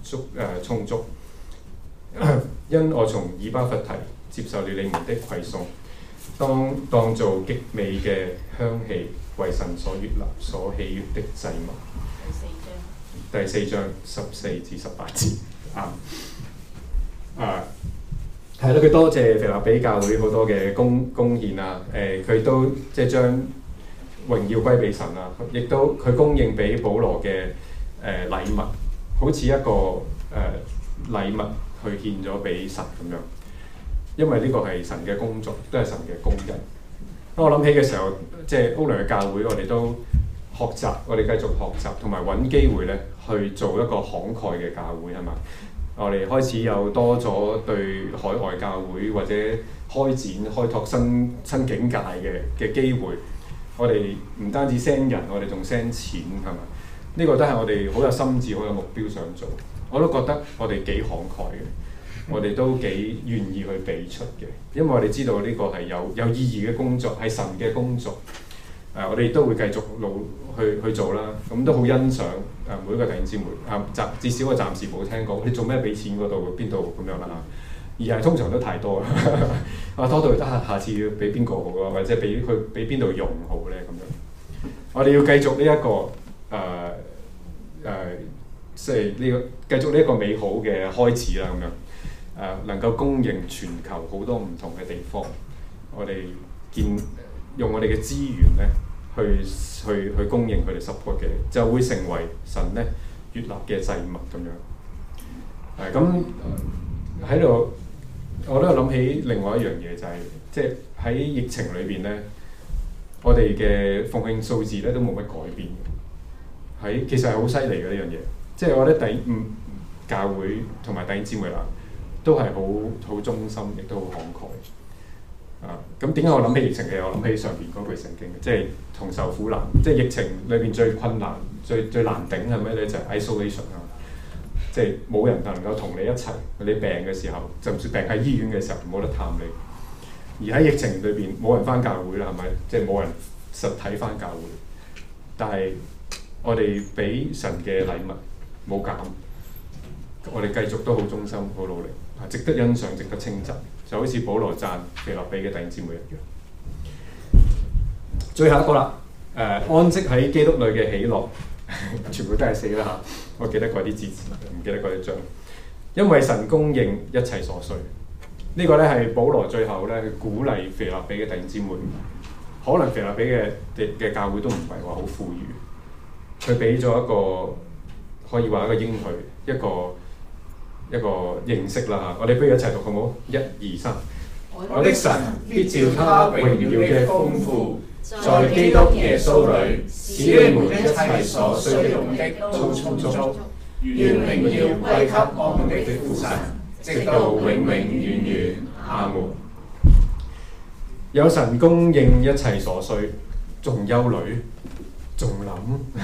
足誒、呃、充足。因我從以巴弗提接受了你們的饋送，當當做極美嘅香氣，為神所悅納、所喜悅的祭物。第四章，第四章十四至十八節啊啊，係咯，佢多謝腓立比教會好多嘅貢貢獻啊，誒、呃，佢都即係將榮耀歸俾神啊，亦都佢供應俾保羅嘅誒、呃、禮物，好似一個誒、呃、禮物。去獻咗俾神咁樣，因為呢個係神嘅工作，都係神嘅工人。當我諗起嘅時候，即係歐良嘅教會，我哋都學習，我哋繼續學習，同埋揾機會咧去做一個慷慨嘅教會，係嘛？我哋開始有多咗對海外教會或者開展開拓新新境界嘅嘅機會。我哋唔單止 send 人，我哋仲 send 錢，係嘛？呢個都係我哋好有心志、好有目標想做。我都覺得我哋幾慷慨嘅，我哋都幾願意去俾出嘅，因為我哋知道呢個係有有意義嘅工作，係神嘅工作。誒、呃，我哋都會繼續努去去做啦。咁、嗯、都好欣賞誒、呃、每一個弟兄姊妹。啊，暫至少我暫時冇聽過，你做咩俾錢嗰度邊度咁樣啦？而係通常都太多啦。啊，多到得下下次要俾邊個好啊？或者俾佢俾邊度用好咧咁樣。我哋要繼續呢、這、一個誒誒。呃呃即係呢個繼續呢一個美好嘅開始啦，咁樣誒、呃、能夠供應全球好多唔同嘅地方，我哋見用我哋嘅資源咧去去去供應佢哋 support 嘅，就會成為神咧悅納嘅祭物咁樣。誒咁喺度，我都有諗起另外一樣嘢，就係即係喺疫情裏邊咧，我哋嘅奉獻數字咧都冇乜改變嘅，喺其實係好犀利嘅呢樣嘢。即係我覺得第五教會同埋弟兄姊妹啦，都係好好忠心，亦都好慷慨。啊，咁點解我諗起疫情嘅？我諗起上邊嗰句聖經，即係同受苦難，即係疫情裏邊最困難、最最難頂係咩咧？就係、是、isolation 啊，即係冇人能夠同你一齊。你病嘅時候，就算病喺醫院嘅時候，冇得探你。而喺疫情裏邊，冇人返教會啦，係咪？即係冇人實體返教會。但係我哋俾神嘅禮物。冇減，我哋繼續都好忠心、好努力，值得欣賞、值得稱讚，就好似保羅讚腓立比嘅弟兄姊妹一樣。最後一個啦，誒、呃、安息喺基督裏嘅喜樂，全部都係死啦嚇！我記得嗰啲字詞，唔記得嗰啲章。因為神供應一切所需，這個、呢個咧係保羅最後咧去鼓勵腓立比嘅弟兄姊妹。可能腓立比嘅嘅教會都唔係話好富裕，佢俾咗一個。可以話一個應許，一個一個認識啦嚇。我哋不如一齊讀好唔好？一、二、三。我的神必照他榮耀嘅豐富，在基督耶穌裏，使你們一切所需用的都充足。願榮耀歸給我們的父神，直到永永遠遠。阿門。有神供應一切所需，仲憂慮，仲諗。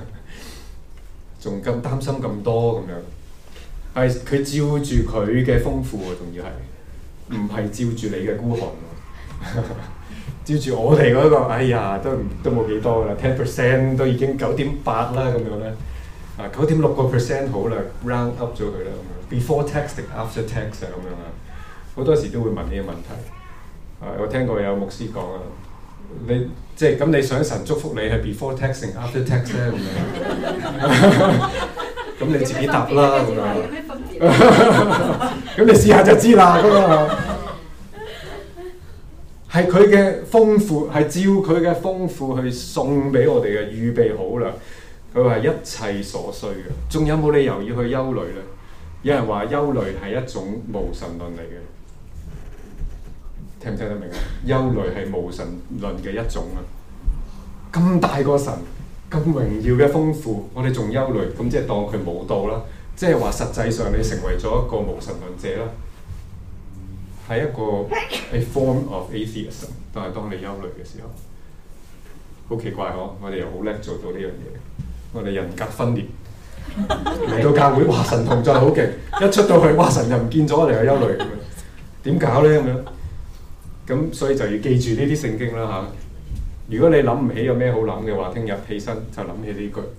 仲咁擔心咁多咁樣，係佢照住佢嘅豐富喎，仲要係唔係照住你嘅孤寒喎？照住我哋嗰、那個，哎呀，都都冇幾多㗎啦 ten percent 都已經九點八啦咁樣咧，啊九點六個 percent 好啦 ，round up 咗佢啦咁樣 ，before tax 定 after tax 啊咁樣啊，好多時都會問呢個問題。啊，我聽過有牧師講啊。你即係咁，你想神祝福你係 before tax 定 after tax 咧咁樣？咁你自己答啦咁樣。咁你試下就知啦咁啊！係佢嘅豐富，係照佢嘅豐富去送俾我哋嘅，預備好啦。佢話一切所需嘅，仲有冇理由要去憂慮咧？有人話憂慮係一種無神論嚟嘅。聽唔聽得明啊？憂慮係無神論嘅一種啊！咁大個神，咁榮耀嘅豐富，我哋仲憂慮，咁即係當佢冇到啦。即係話實際上你成為咗一個無神論者啦，係一個 a form of atheism。但係當你憂慮嘅時候，好奇怪嗬！我哋又好叻做到呢樣嘢，我哋人格分裂嚟到教會，哇神同在好勁，一出到去哇神又唔見咗，我哋又憂慮咁樣，點搞咧咁樣？咁所以就要記住呢啲聖經啦嚇。如果你諗唔起有咩好諗嘅話，聽日起身就諗起呢句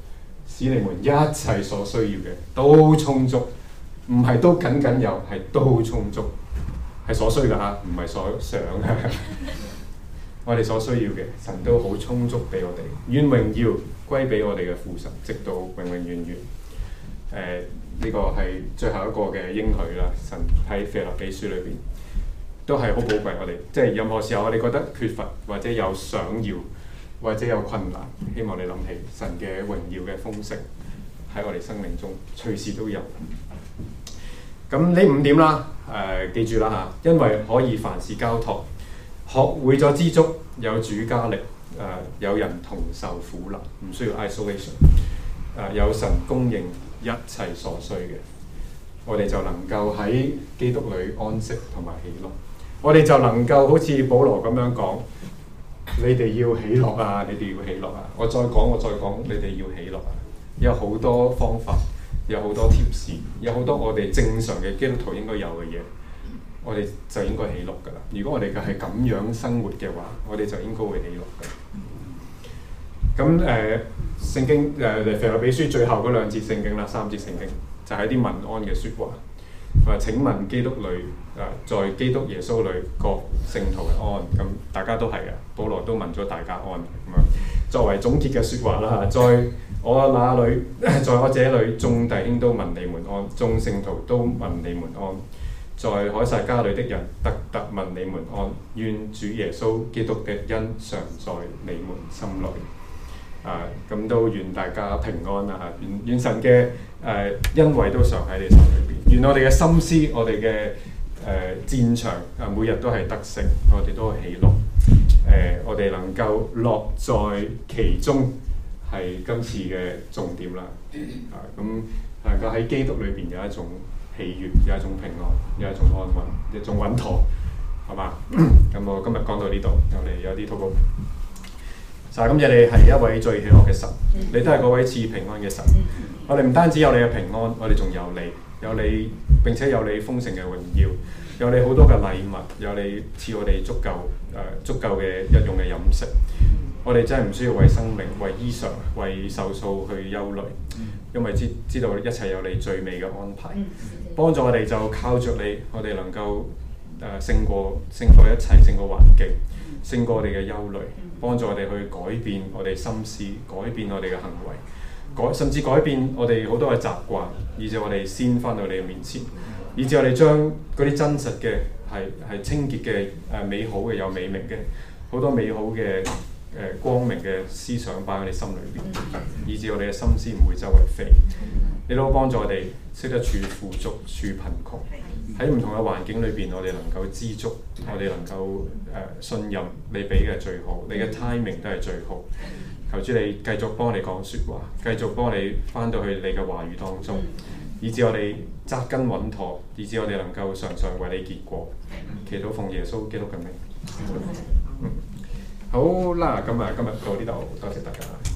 使你們一切所需要嘅都充足，唔係都僅僅有，係都充足，係所需㗎嚇，唔係所想嘅。我哋所需要嘅神都好充足俾我哋，願榮耀歸俾我哋嘅父神，直到永永遠遠。誒、呃，呢、這個係最後一個嘅應許啦。神喺腓立比書裏邊都係好寶貴我哋，即係任何時候我哋覺得缺乏或者有想要或者有困難，希望你諗起神嘅榮耀嘅豐盛喺我哋生命中隨時都有。咁呢五點啦，誒、呃、記住啦嚇，因為可以凡事交託，學會咗知足，有主加力，誒、呃、有人同受苦難，唔需要 isolation， 誒、呃、有神供應一切所需嘅，我哋就能夠喺基督裏安息同埋喜樂。我哋就能夠好似保羅咁樣講，你哋要喜樂啊！你哋要喜樂啊！我再講，我再講，你哋要喜樂啊！有好多方法，有好多貼士，有好多我哋正常嘅基督徒應該有嘅嘢，我哋就應該喜樂噶啦。如果我哋嘅係咁樣生活嘅話，我哋就應該會喜樂噶。咁誒、呃，聖經誒腓立比書最後嗰兩節聖經啦，三節聖經就係、是、啲問安嘅説話。話請問基督裏誒、呃，在基督耶穌裏各聖徒嘅安，咁大家都係嘅。保羅都問咗大家安咁樣，作為總結嘅説話啦。在我那裏，在我這裏，眾弟兄都問你們安，眾聖徒都問你們安。在凱撒家裏的人，特特問你們安。願主耶穌基督嘅恩常在你們心裏。啊，咁都願大家平安啦嚇！願願神嘅誒恩惠都常喺你心裏邊。願我哋嘅心思，我哋嘅誒戰場啊，每日都係得勝，我哋都喜樂。誒、呃，我哋能夠樂在其中，係今次嘅重點啦。啊，咁能夠喺基督裏邊有一種喜悅，有一種平安，有一種安穩，一種穩妥，好嘛？咁我今日講到呢度，我哋有啲禱告。神，感謝你係一位最喜樂嘅神，你都係嗰位賜平安嘅神。我哋唔單止有你嘅平安，我哋仲有你，有你並且有你豐盛嘅榮耀，有你好多嘅禮物，有你賜我哋足夠誒、呃、足夠嘅日用嘅飲食。我哋真係唔需要為生命、為衣裳、為壽數去憂慮，因為知知道一切有你最美嘅安排。幫助我哋就靠着你，我哋能夠誒勝過勝過一切，勝過環境，勝過我哋嘅憂慮。幫助我哋去改變我哋心思，改變我哋嘅行為，改甚至改變我哋好多嘅習慣，以至我哋先返到你嘅面前，以至我哋將嗰啲真實嘅係係清潔嘅誒美好嘅有美名嘅好多美好嘅誒、呃、光明嘅思想擺喺你心裏邊，以至我哋嘅心思唔會周圍飛。你都幫助我哋識得處富足、處貧窮，喺唔同嘅環境裏邊，我哋能夠知足，我哋能夠誒、呃、信任你俾嘅最好，你嘅 timing 都係最好。求主你繼續幫我哋講説話，繼續幫我哋翻到去你嘅話語當中，以至我哋紮根穩妥，以至我哋能夠常常為你結果。祈禱奉耶穌基督嘅名。嗯，好啦，咁啊，今日到呢度，多謝大家。